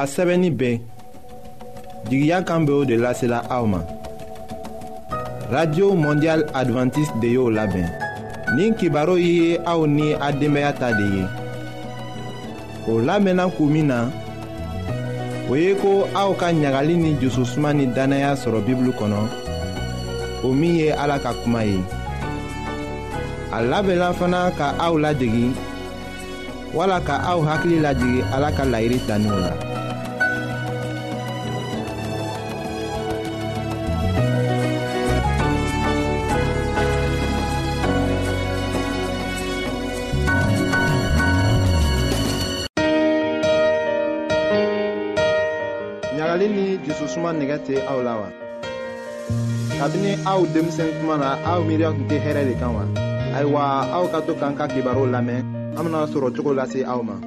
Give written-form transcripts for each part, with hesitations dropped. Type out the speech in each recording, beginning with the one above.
a sɛbɛnni bɛɛ jigiya kan bɛ o de lasela aw ma. Radio Mondial Adventiste de y'o labɛn. Nin kibaru ye aw ni a denbaya ta de ye. O lamɛnna kun min na, o ye ko aw ka ɲagali ni jususuma ni danaya sɔrɔ Bibulu kɔnɔ, o min ye Ala ka kuma ye. A labɛnna fana ka aw ladegi, wala ka aw hakili lajigi Ala ka laɲini taniw la. Ɲagali ni jususuma nɛgɛ tɛ aw la wa? Kabini aw denmisɛn tuma na aw miiriya tun tɛ hɛrɛ de kan wa? Ayiwa, aw ka to k'an ka kibaru lamɛn, an bena sɔrɔ cogo lase aw ma.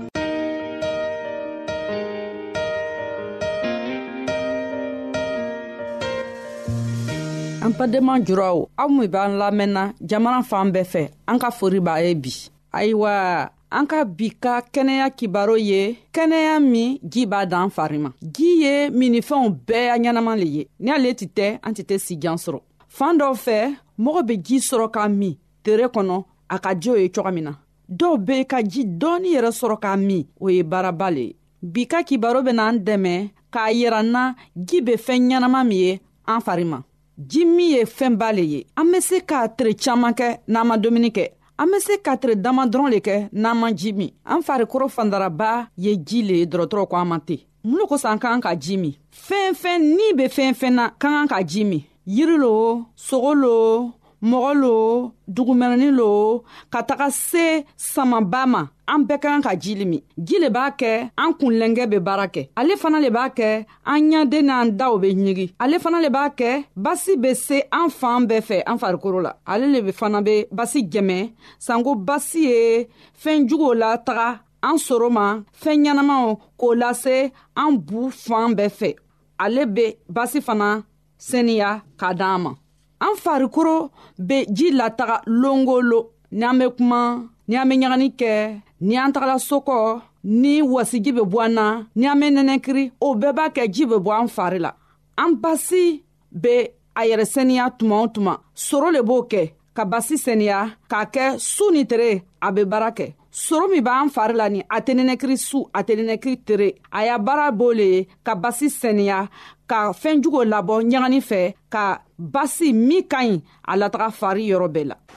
An badenma juraw, aw min b'an lamɛnna jamana fan bɛɛ fɛ, an ka fori b'a ye bi. Ayiwa, an ka bi ka kɛnɛya kibaru ye kɛnɛya min ji b'a dan fari ma. Ji ye minifɛnw bɛɛ ya ɲɛnama le ye. Ni ale tɛ, an tɛ sijan sɔrɔ. Fan dɔw fɛ, mɔgɔ bɛ ji sɔrɔ k'a min tere kɔnɔ a ka ji o ye cogo min na. Dɔw bɛ ka ji dɔɔni yɛrɛ sɔrɔ k'a min, o ye baaraba le ye. Bi ka kibaru bɛna an dɛmɛ k'a yira n na ji bɛ fɛn ɲɛnama min ye an fari ma. Ji min ye fɛnba le ye. An bɛ se k'a tere caman kɛ n'an ma dumuni kɛ. An bɛ se ka tere dama dɔrɔn le kɛ n'an ma ji min. An farikolo fandaraba ye ji le ye, dɔgɔtɔrɔ ko an ma ten. Mun de kosɔn an ka kan ka ji min? Fɛn ni bɛ fɛn na ka kan ka ji min. Yiri lo, sogo lo, mɔgɔ lo, dugumɛnɛni lo, ka taga se samaba ma, an bɛɛ ka kan ka ji le min. Ji le b'a kɛ an kunlɛnkɛ bɛ baara kɛ. Ale fana le b'a kɛ an ɲaden n'an daw bɛ ɲigi. Ale fana le b'a kɛ basi bɛ se an fan bɛɛ fɛ an farikolo la. Ale le fana bɛ basi jɛmɛ. Sanko basi ye fɛn juguw la taga an soro ma, fɛn ɲɛnamaw k'o lase an bu fan bɛɛ fɛ. Ale bɛ basi fana seniya k'a d'an ma. An farikolo be ji lataga longolo, ni an be kuma, ni an be ɲagani kɛ, ni an tagala sokɔ, ni wasiji be bɔ an na, ni an be nɛnɛkiri, o bɛɛ b'a kɛ ji be bɔ an fari la. An basi be a yɛrɛ seniya tuma o tuma, soro le b'o kɛ ka basi seniya k'a kɛ su ni tere a be baara kɛ. Soro min b'an fari la ni a tɛ nɛnɛkiri su, a tɛ nɛnɛkiri tere, a y'a baara b'o le ye ka basi seniya, ka fɛn jugo labɔ ɲagani fɛ, ka basi min ka ɲi a lataga fari yɔrɔ bɛɛ la.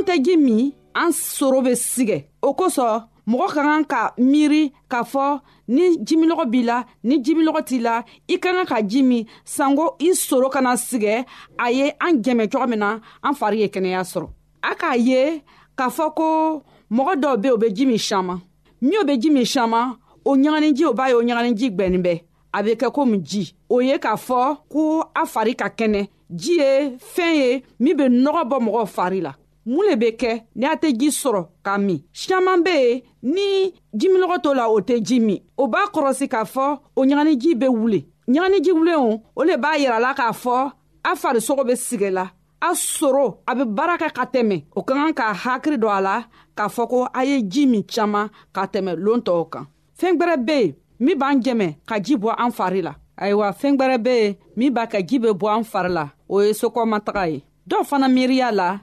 tɛ ji min an soro bɛ sigɛ. O kosɔn mɔgɔ ka kan ka miiri k'a fɔ ni jimilɔgɔ b'i la ni jimilɔgɔ t'i la i ka kan ka ji min sanko i soro kana sigɛ a ye an jɛmɛ cogo min na an fari ye kɛnɛya sɔrɔ. A k'a ye k'a fɔ ko mɔgɔ dɔw bɛ o bɛ ji min caman min bɛ ji min caman o ɲaganiji o b'a ye o ɲaganiji gbɛnnen bɛ a bɛ kɛ komi ji. O ye k'a fɔ ko a fari ka kɛnɛ. Ji ye fɛn ye min bɛ nɔgɔ bɔ mɔgɔ fari la. Mun le bɛ kɛ ni a tɛ ji sɔrɔ k'a min? Caman bɛ yen ni jimilɔgɔ t'o la o tɛ ji min. O b'a kɔrɔsi k'a fɔ o ɲaganiji bɛ wuli. Ɲaganiji wulen o le b'a yira la k'a fɔ a farisogo bɛ sigɛ la. A soro a bɛ baara kɛ ka tɛmɛ. O ka kan ka hakili don a la k'a fɔ ko a ye ji min caman ka tɛmɛ lon tɔw kan. Fɛn gbɛrɛ bɛ yen min b'an jɛmɛ ka ji bɔ an fari la. Ayiwa fɛn gbɛrɛ bɛ yen min b'a ka ji bɛ bɔ an fari la. O ye sokɔmataga ye. Dɔw fana miiriya la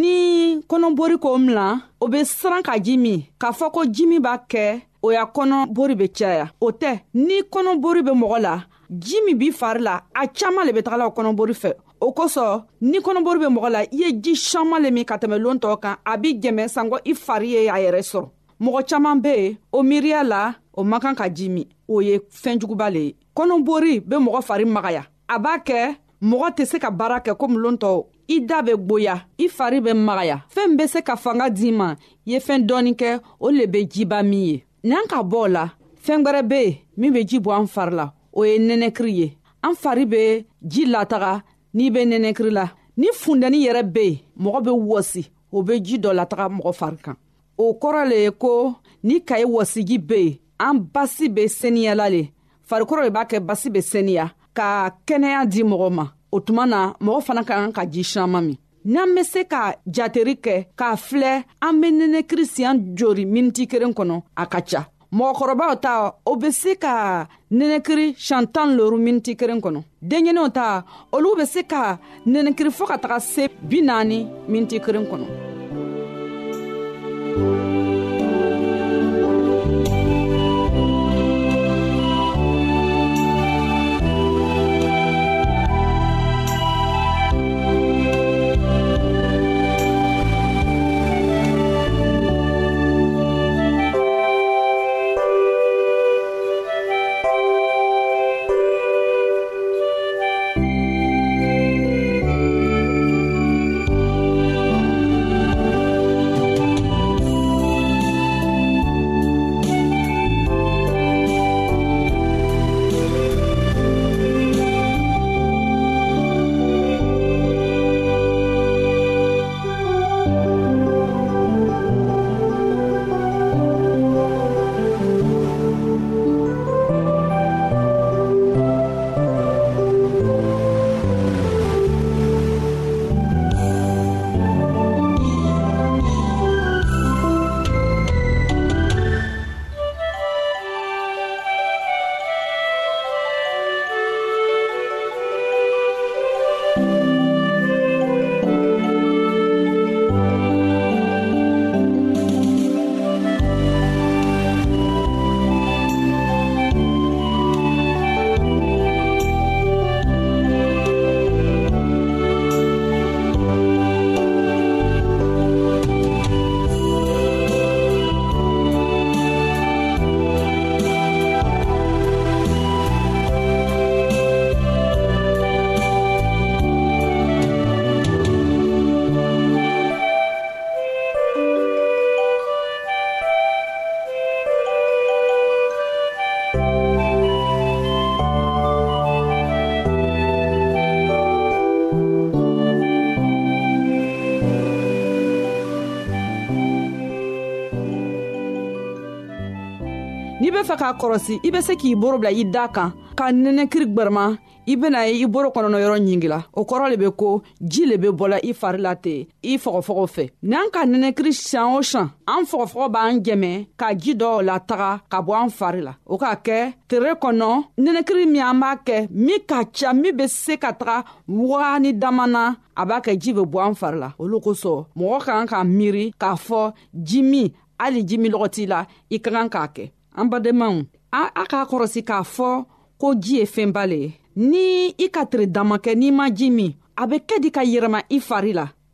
ni kɔnɔbori ko milan o bɛ siran ka ji min k'a fɔ ko ji min b'a kɛ o ya kɔnɔbori bɛ caya. O tɛ. Ni kɔnɔbori bɛ mɔgɔ la ji min b'i fari la a caman le bɛ tagala o kɔnɔbori fɛ. O kosɔn ni kɔnɔbori bɛ mɔgɔ la i ye ji caman le min ka tɛmɛ lon tɔw kan a b'i jɛmɛ sanko i fari ye a yɛrɛ sɔrɔ. Mɔgɔ caman bɛ yen o miiriya la o man kan ka ji min. O ye fɛnjuguba le ye. Kɔnɔbori bɛ mɔgɔ fari magaya. A b'a kɛ mɔgɔ tɛ se ka baara kɛ komi lon tɔw. I da bɛ gboya i fari bɛ magaya. Fɛn bɛ se ka fanga d'i ma i ye fɛn dɔɔni kɛ o le bɛ jiba min ye. N'an ka bɔ o la fɛn gbɛrɛ bɛ yen min bɛ ji bɔ an fari la o ye nɛnɛkiri ye. An fari bɛ ji lataga n'i bɛ nɛnɛkiri la. Ni fundɛni yɛrɛ bɛ yen mɔgɔ bɛ wɔsi o bɛ ji dɔ lataga mɔgɔ fari kan. O kɔrɔ le ye ko ni kaye wɔsiji bɛ yen an basi bɛ seniyala le. Farikolo de b'a kɛ basi bɛ seniya ka kɛnɛya di mɔgɔ ma. O tuma na mɔgɔ fana ka kan ka ji caman min. N'an bɛ se ka jateri kɛ k'a filɛ an bɛ nɛnɛkiri siɲɛ joli miniti kelen kɔnɔ a ka ca. Mɔgɔkɔrɔbaw ta o bɛ se ka nɛnɛkiri siɲɛ 15 miniti kelen kɔnɔ. Denɲɛninw ta olu bɛ se ka nɛnɛkiri fɔ ka taga se 40 miniti kelen kɔnɔ. N'i bɛ fɛ k'a kɔrɔsi i bɛ se k'i boro bila i da kan ka nɛnɛkiri gbɛrɛma i bɛna ye i boro kɔnɔna yɔrɔ ɲingila. O kɔrɔ le bɛ ko ji le bɛ bɔla i fari la ten i fɔgɔfɔgɔ fɛ. N'an ka nɛnɛkiri siɲɛ o siɲɛ an fɔgɔfɔgɔ b'an jɛmɛ ka ji dɔw lataga ka bɔ an fari la. O k'a kɛ tere kɔnɔ nɛnɛkiri min an b'a kɛ min ka ca min bɛ se ka taga wagani dama na a b'a kɛ ji bɛ bɔ an fari la. Olu kosɔn mɔgɔ ka kan ka miiri k'a fɔ ji min hali ji min lɔgɔ t'i la i ka kan k'a kɛ. An badenmaw a k'a kɔrɔsi k'a fɔ ko ji ye fɛnba le ye. Ni i ka tere dama kɛ n'i ma ji min a bɛ kɛ di ka yɛrɛma i fari la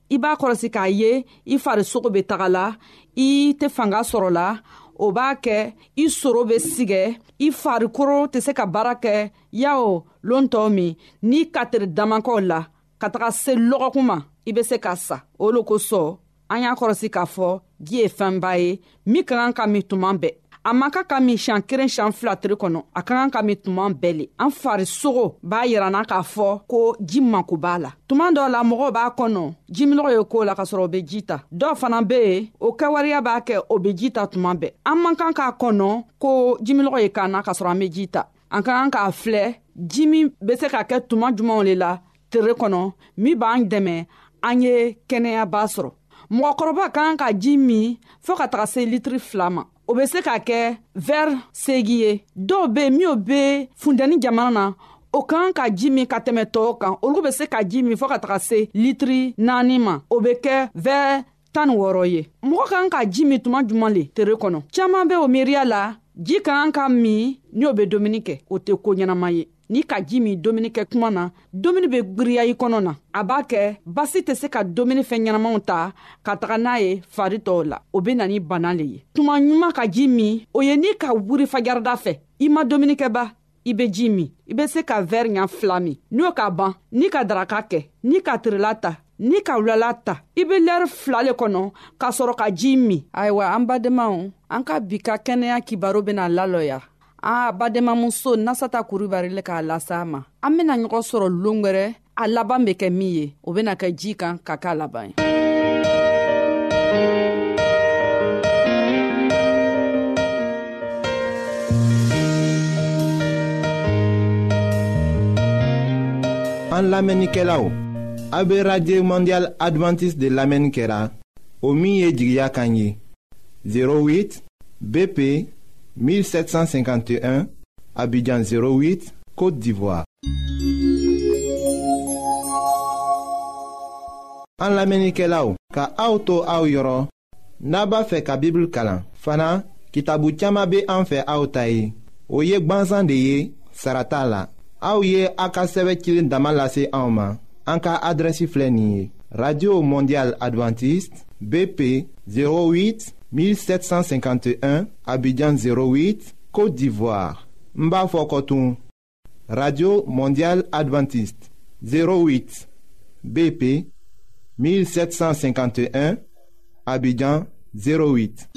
I b'a kɔlɔsi k'a ye I farisogo be taga la, I tɛ fanga sɔrɔ la, o b'a kɛ I soro be sigɛ, I farikolo tɛ se ka baara kɛ yao loon tɔw min n'i katiri damakɔw la ka taga se lɔgɔkun ma I be se ka sa. O lo kosɔn an y'a kɔlɔsi k'a fɔ ji ye fɛnba ye min ka kan ka min tuma bɛɛ. A man kan ka min siɲan 1 siɲan 2 tile kɔnɔ, a ka kan ka min tuma bɛɛ le. An farisogo b'a yirana k'a fɔ ko ji mako b'a la. Tuma dɔw la mɔgɔw b'a kɔnɔ jiminɔgɔ ye ko la ka sɔrɔ o be ji ta. Dɔw fana be yen o kɛwariya b'a kɛ o be ji ta tuma bɛɛ. An man kan k'a kɔnɔ ko jiminɔgɔ ye kan na ka sɔrɔ an be ji ta. An ka kan k'a filɛ ji min be se ka kɛ tuma jumanw le la tere kɔnɔ min b'an dɛmɛ an ye kɛnɛyaba sɔrɔ. Mɔgɔkɔrɔba ka kan ka ji min fɔɔ ka taga se litiri 2 ma. O be se ka kɛ verre 8 ye. Dɔw be min be funteni jamana na o ka kan ka ji min ka tɛmɛ tɔw kan. Olu be se ka ji min fɔɔ ka taga se litiri 4 ma. O be kɛ verre 16 ye. Mɔgɔ ka kan ka ji min tuma juman le tere kɔnɔ. Caaman be o miiriya la ji ka kan ka min ni o be domuni kɛ. O tɛ ko ɲɛnama ye. Ni ka ji min domuni kɛ kuma na, domuni be gwiriya I kɔnɔ na. A b'a kɛ basi tɛ se ka domuni fɛn ɲɛnamaw ta ka taga n'a ye fari tɔw la. O be na ni bana le ye. Tuma ɲuman ka ji min, o ye ni ka wuri fajarida fɛ. I ma domuni kɛba, I be ji min. I be se ka verre ɲa 2 min. N'o ka ban, ni ka daraka kɛ, ni ka tirila ta, ni ka wulala ta, I be lɛri 2 le kɔnɔ ka sɔrɔ ka ji min. Ayiwa, an badenmaw, an ka bi ka kɛnɛya kibaro bena lalɔya. Bademamuso Nasata Kuribari le k'a lasa ma. An bena ɲɔgɔn sɔrɔ loon wɛrɛ, a laban be kɛ min ye, o bena kɛ ji kan ka k'a laban ye. An lamɛnnikɛlaw, a be Radio Mondial Adventiste de lamɛnni kɛra o min ye jigiya kan ye 08 BP 1751 Abidjan 08 Côte d'Ivoire. An lamɛnnikɛlaw, ka aw to aw yɔrɔ n'a b'a fɛ ka Bible kalan. Fana kitabu caaman be an fɛ aw ta ye. O ye gwanzan de ye, sara t'a la. Aw ye a ka sɛbɛ cilen dama lase anw ma. An ka adrɛsi filɛ nin ye: Radio Mondial Adventiste BP 08 1751 Abidjan 08 Côte d'Ivoire. N b'a fɔ kɔtun: Radio Mondial Adventiste 08 BP 1751 Abidjan 08.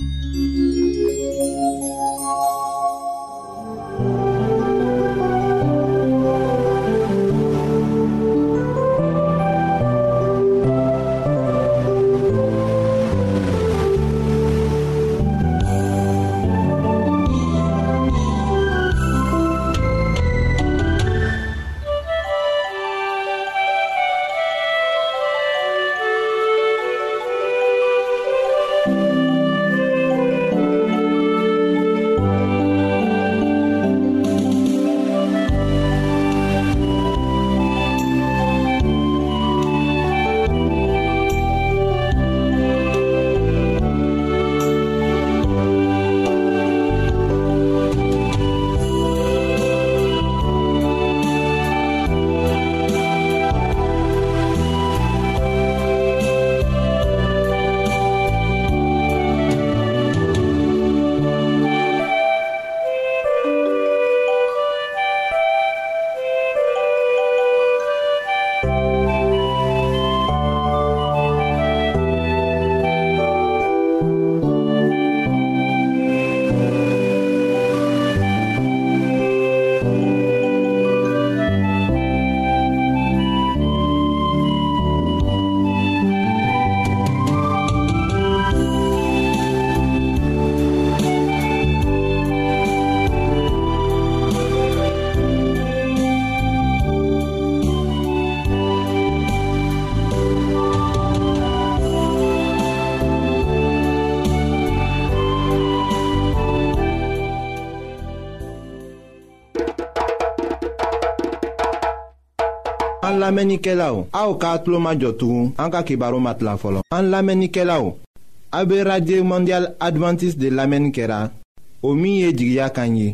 An lamɛnnikɛlaw, aw k'a tulo majɔ tugun an ka kibaru matila fɔlɔ. An lamɛnnikɛlaw, a be Radio Mondial Adventiste de lamɛnni kɛra o min ye jigiya kan ye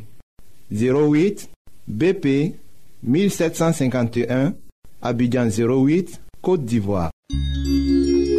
08 BP 1751 Abidjan 08 Côte d'Ivoire.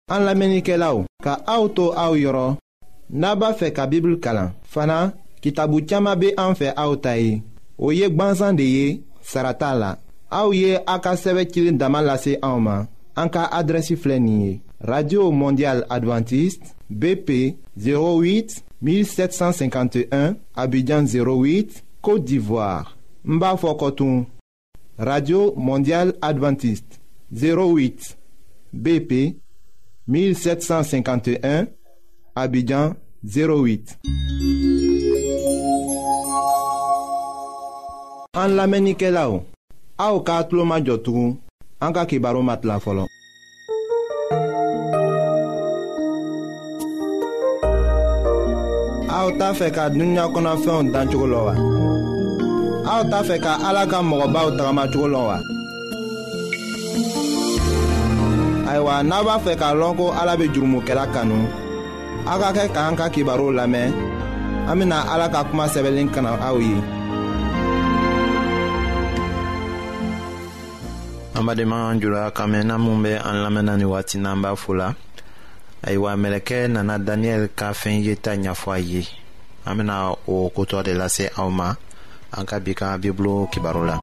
An lamenikelaw, ka auto au yoro, naba fe ka Bible kalan. Fana, kitabu chama be an fe au tayi. O yek banzan de ye, sarata la. Au ye aka seve kilin damalase anma. Anka adresi flenye. Radio Mondial Adventiste, BP 08 1751, Abidjan 08, Côte d'Ivoire. Mba Fokotoun. Radio Mondial Adventiste 08, BP 1751, Abidjan 08. An lamenike la ou, a ou ka atlo majotou, an ka kibaro mat la folon. A ou ta fe ka dunya kona fe on dan choko lo wa. A ou ta fe ka ala ka mogoba ou tagama choko lo wa. Aywa naba fe ka lonko ala be jurumu kela kanu. Aga ke ka an ka kibaro lame, amina ala ka kuma sebelin kana awi. Amadema jula kamena mumbe an lamena ni wati namba fula. Aywa meleke nana Daniel ka fen yeta nyafwa ye. Amina o koto de lase auma. Anka bika biblo kibarola.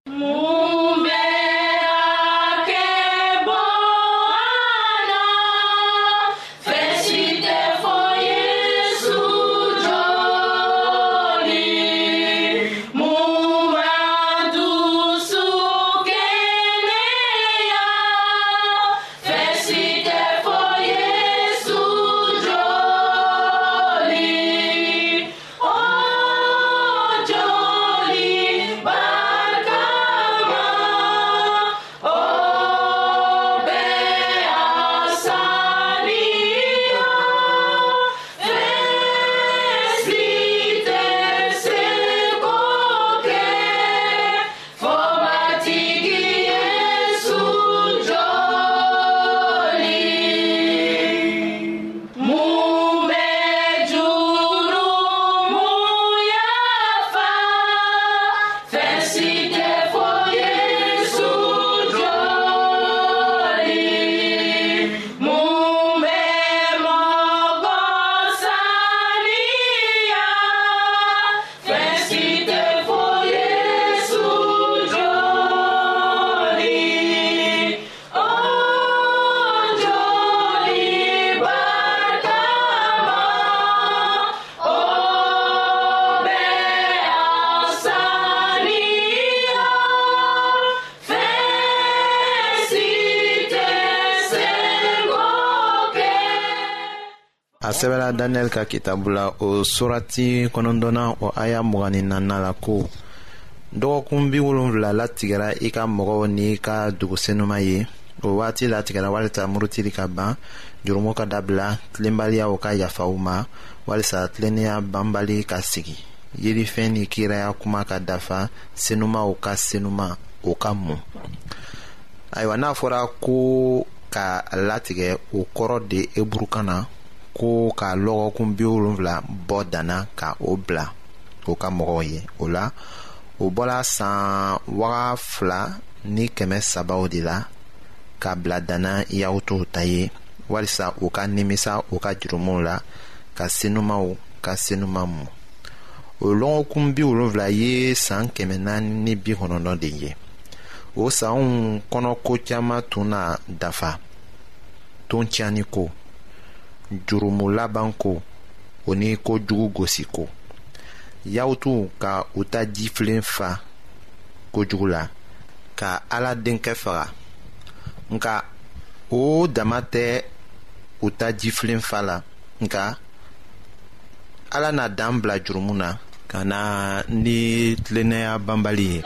A sɛbɛla Daniel ka kitabu la o surati kɔnɔntɔnna o aya 24 la ko dɔgɔkun 70 latigɛra i ka mɔgɔw ni ka dugusenuma ye o waati latigɛra walisa murutili ka ban jurumu ka dabila tilenbaliyaw ka yafaw ma walisa tilennenya banbali ka sigi yirifɛn ni kiraya kuma ka dafa senumaw ka senuma o ka mun ayiwa n'a fɔra ko ka latigɛ o kɔrɔ de eburukan na ko ka lɔgɔkun 70 bɔ dana ka o bila o ka mɔgɔw ye o la o bɔla san 2,300 de la ka bila dana yahutuw ta ye walisa u ka nimisa u ka jurumuw la ka senumaw ka senuma mu o lɔgɔkun 70 ye san 490 de ye o sanw kɔnɔ ko caman tun na dafa ton tiɲani ko jurumu laban ko o ni ko jugu gosi ko yahutu ka u ta jifilen fa kojugu la ka ala denkɛ faga nka o dama tɛ u ta jifilen fa la nka ala na dan bila jurumu na ka na ni tilennenya banbali ye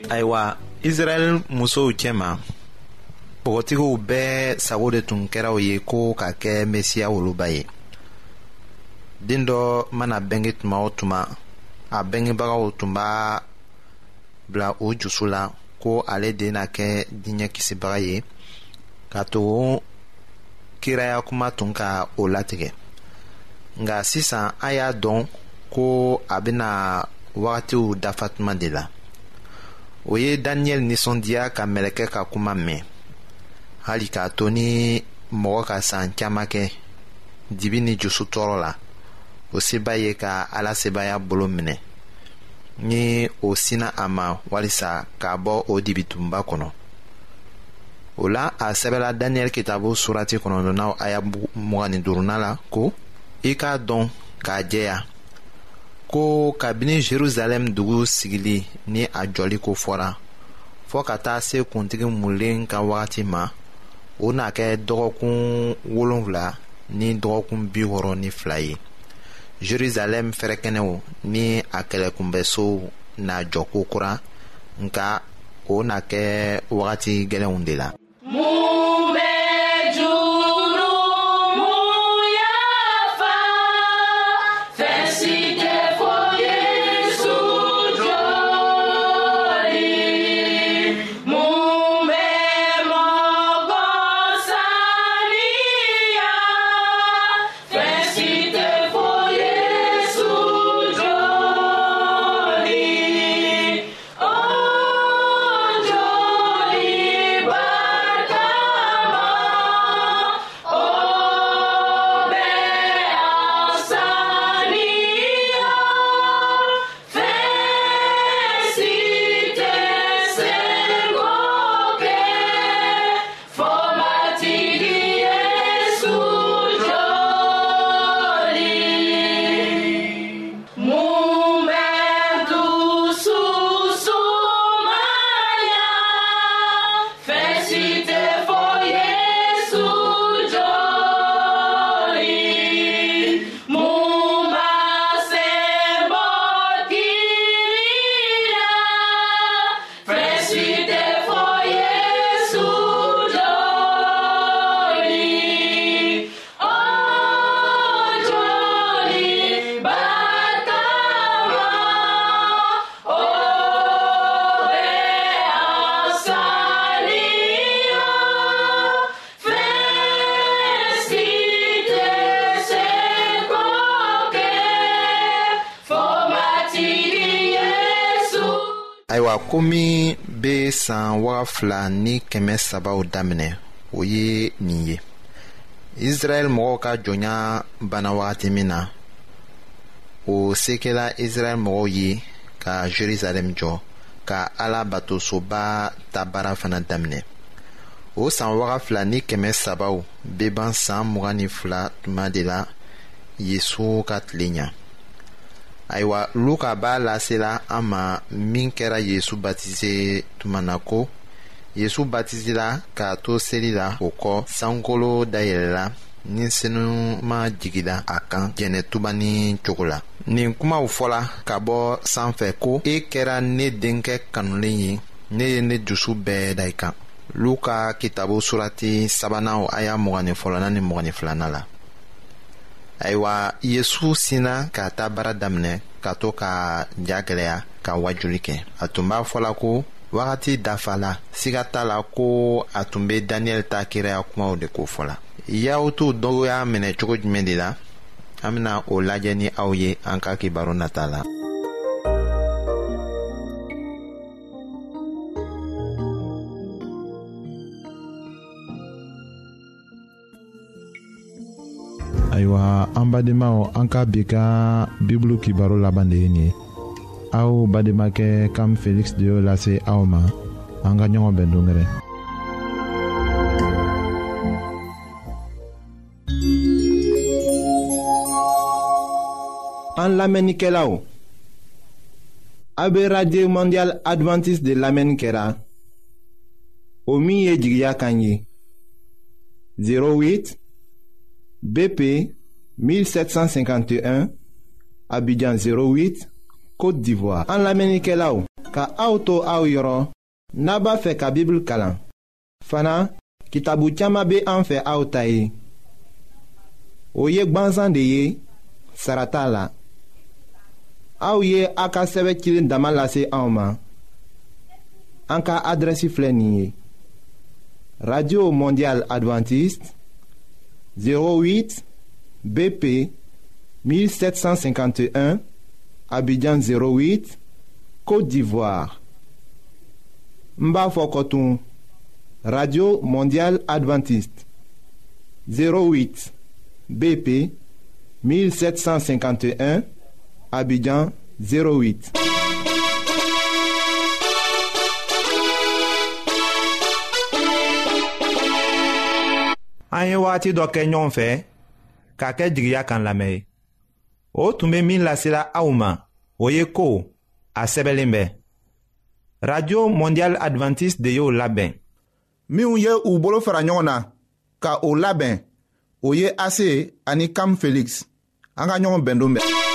Ayiwa Israel musow cɛma bɔgɔtigiw bɛɛ sago de tun kɛra o ye ko ka kɛ mesiya woloba ye. Den dɔ mana bɛnge tuma o tuma a bɛngebagaw tun b'a bila o jusu la ko ale de na kɛ diɲɛ kisibaga ye ka to kiraya kuma tun ka o latigɛ. Nka sisan a y'a dɔn ko a bɛna wagatiw dafa tuma de la. O ye Daniel nisɔndiya ka mɛlɛkɛ ka kuma mɛn, hali k'a to ni mɔgɔ ka san caman kɛ dibi ni jusu tɔɔrɔ la. O seba ye ka Ala sebaya bolo minɛ ni o sina a ma walisa k'a bɔ o dibitunba kɔnɔ. O la a sɛbɛla Daniel kitabu surati 9 aya 25 la ko i k'a dɔn k'a jɛya ko kabini Jerusalem dugu sigili ni a jɔli ko fɔra fɔɔ ka taa se kuntigi mulen ka wagati ma, o na kɛ dɔgɔkun 7 ni dɔgɔkun 62 ye. Jerusalem fɛrɛkɛnɛw ni a kɛlɛkunbɛsow na jɔ kokura, nka o na kɛ wagati gɛlɛnw de la. Ayiwa komi be san 2003 daminɛ o ye nin ye. Israel mɔgɔw ka jɔnya bana wagati min na, o se kɛla Israel mɔgɔw ye ka Jerusalem jɔ ka Ala batosoba ta baara fana daminɛ. O san 2003 be ban san 22 tuma de la Yesu ka tile ɲa. Ayiwa Luka b'a lasela an ma min kɛra Yesu batize tuma na ko Yesu batizela k'a to seli la, o kɔ sankolo dayɛlɛla ni senuma jigila a kan jɛnɛtuba ni cogo la. Nin kumaw fɔla ka bɔ sanfɛ ko e kɛra ne denkɛ kanulen ye, ne ye ne dusu bɛɛ da i kan. Luka kitabu surati 3 aya 24 ni 22 la. Ayiwa Yesu sina k'a ta baara daminɛ ka to ka ja gɛlɛya ka wajuli kɛ. A tun b'a fɔla ko wagati dafala, siga t'a la ko a tun be Daniel ta kiraya kumaw de ko fɔla. Yahudiw dɔw y'a minɛ cogo jumɛn de la? An bena o lajɛ ni aw ye an ka kibaru nata la. Ayiwa an badenmaw, an ka bi ka bibulu kibaru laban de ye nin ye. Aw bademakɛ Kam Felix de y'o lase aw ma. An ka ɲɔgɔn bɛn dongɛrɛ. An lamɛnnikɛlaw, a be Radio Mondial Adventiste de lamɛnni kɛra o min ye jigiya kan ye 08 BP 1751 Abidjan 08 Côte d'Ivoire. An lamɛnnikɛlaw, ka auto aw yɔrɔ n'a b'a fɛ ka Bible kalan. Fana kitabu caaman be an fɛ aw ta ye. O ye gwanzan de ye, sara t'a la. Aw ye a ka sɛbɛ cilen dama lase anw ma. An ka adrɛsi filɛ nin ye: Radio Mondial Adventiste 08 BP 1751 Abidjan 08, Côte d'Ivoire. N b'a fɔ kɔtun: Radio Mondial Adventiste 08 BP 1751 Abidjan 08. An ye wagati dɔ kɛ ɲɔgɔn fɛ k'a kɛ jigiya kan lamɛn ye. O tun bɛ min lasela aw ma, o ye ko a sɛbɛnlen bɛ. Radio Mondial Adventiste de y'o labɛn. Minnu ye u bolo fara ɲɔgɔn na ka o labɛn, o ye Ase ani Kam Felix. An ka ɲɔgɔn bɛn don bɛɛ.